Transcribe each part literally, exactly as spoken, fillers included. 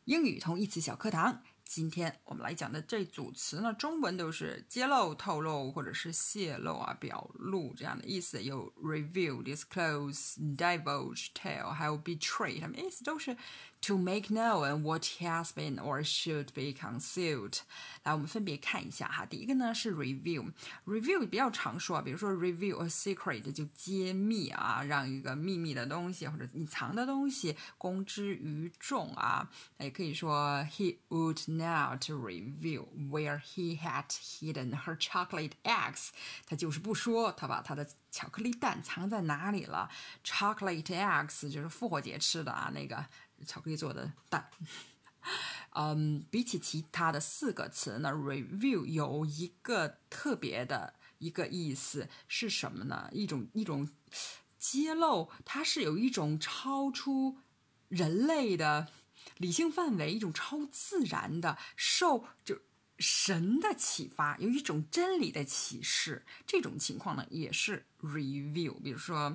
英语同义词小课堂，今天我们来讲的这组词呢，中文都是揭露、透露或者是泄露啊、表露这样的意思，有 reveal、disclose、divulge、tell， 还有 betray， 它们意思都是 to make known what has been or should be concealed。来，我们分别看一下哈。第一个呢是 reveal，reveal 比较常说啊，比如说 reveal a secret 就揭秘啊，让一个秘密的东西或者隐藏的东西公之于众啊。也可以说 he would not reveal where he had hidden her chocolate eggs， 他就是不说他把他的巧克力蛋藏在哪里了。 chocolate eggs 就是复活节吃的啊，那个巧克力做的蛋。嗯，比起其他的四个词呢 reveal 有一个特别的一个意思是什么呢？一种一种揭露，它是有一种超出人类的理性范围，一种超自然的受就神的启发，有一种真理的启示，这种情况呢也是 reveal。 比如说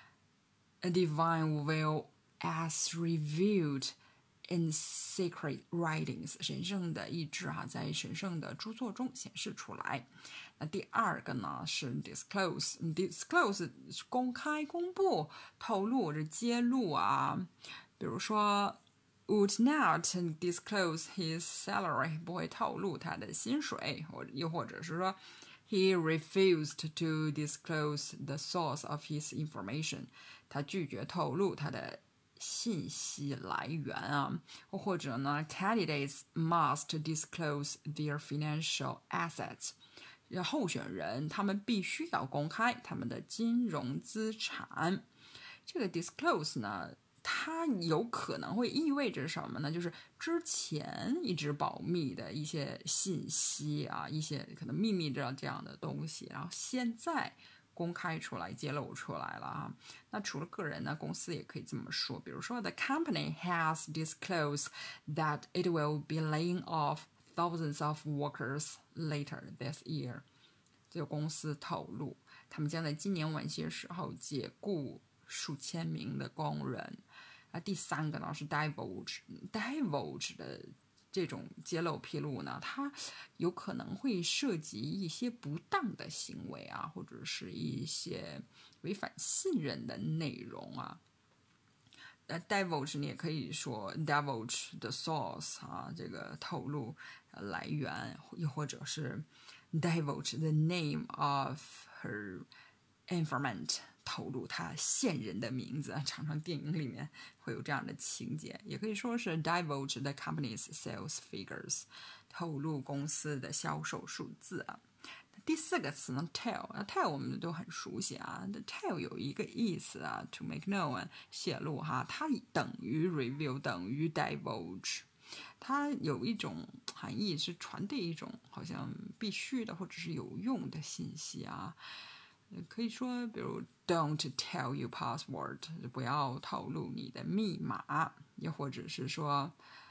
a divine will as revealed in sacred writings， 神圣的意志哈、啊，在神圣的著作中显示出来。那第二个呢是 disclose， disclose 公开、公布、透露或者揭露啊。比如说 would not disclose his salary， 不会透露他的薪水，或又或者是说 he refused to disclose the source of his information， 他拒绝透露他的信息来源啊。或者呢 candidates must disclose their financial assets， 候选人他们必须要公开他们的金融资产。这个 disclose 呢，它有可能会意味着什么呢？就是之前一直保密的一些信息啊，一些可能秘密的这样的东西，然后现在公开出来、揭露出来了啊。那除了个人呢，公司也可以这么说，比如说 The company has disclosed that it will be laying off thousands of workers later this year。这个公司透露，他们将在今年晚些时候解雇数千名的工人。啊，第三个呢是 divulge， divulge 的这种揭露披露呢，它有可能会涉及一些不当的行为啊，或者是一些违反信任的内容啊。呃 divulge 你也可以说 divulge the source 啊，这个透露来源，又或者是 divulge the name of her informant， 透露他线人的名字，常常电影里面会有这样的情节。也可以说是 divulge the company's sales figures， 透露公司的销售数字啊。第四个词呢 tell， tell 我们都很熟悉啊。tell 有一个意思啊 to make known， 泄露哈，它等于 reveal， 等于 divulge， 它有一种含义是传递一种好像必须的或者是有用的信息啊。可以说比如 don't tell your password， 不要透露你的密码。也或者是说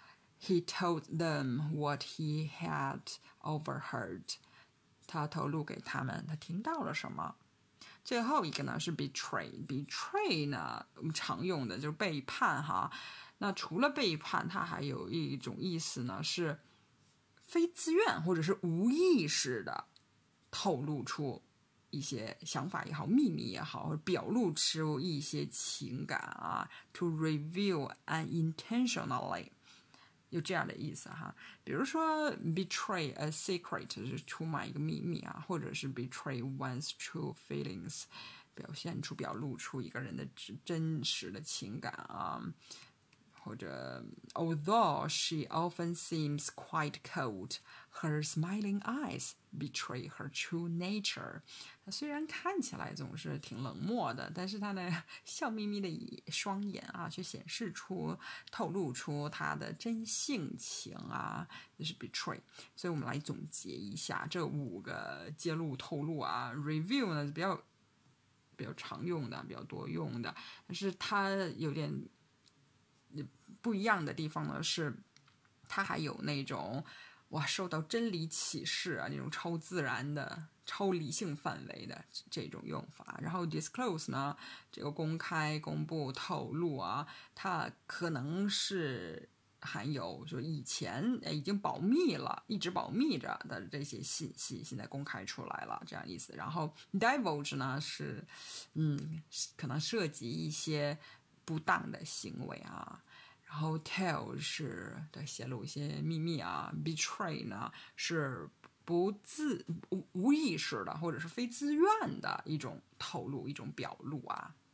he told them what he had overheard， 他透露给他们他听到了什么。最后一个呢是 betray， betray 呢我们常用的就是背叛哈。那除了背叛，它还有一种意思呢是非自愿或者是无意识的透露出一些想法也好，秘密也好，或者表露出一些情感啊 to reveal unintentionally， 有这样的意思哈。比如说 betray a secret 是出卖一个秘密啊，或者是 betray one's true feelings， 表现出表露出一个人的真实的情感啊。或者 although she often seems quite cold, her smiling eyes betray her true nature。 她虽然看起来总是挺冷漠的，但是她的笑眯眯的双眼啊，却显示出透露出她的真性情啊，就是 betray。 所以我们来总结一下这五个揭露透露啊。 reveal 呢比较比较常用的，比较多用的，但是它有点不一样的地方呢是它还有那种哇受到真理启示啊，那种超自然的超理性范围的这种用法。然后 disclose 呢，这个公开公布透露啊，它可能是含有就是以前已经保密了，一直保密着的这些信息，现在公开出来了，这样意思。然后 divulge 呢是，嗯，可能涉及一些不当的行为啊。然后 tell 是对泄露一些秘密啊 ，betray 呢是不自无无意识的或者是非自愿的一种透露，一种表露啊。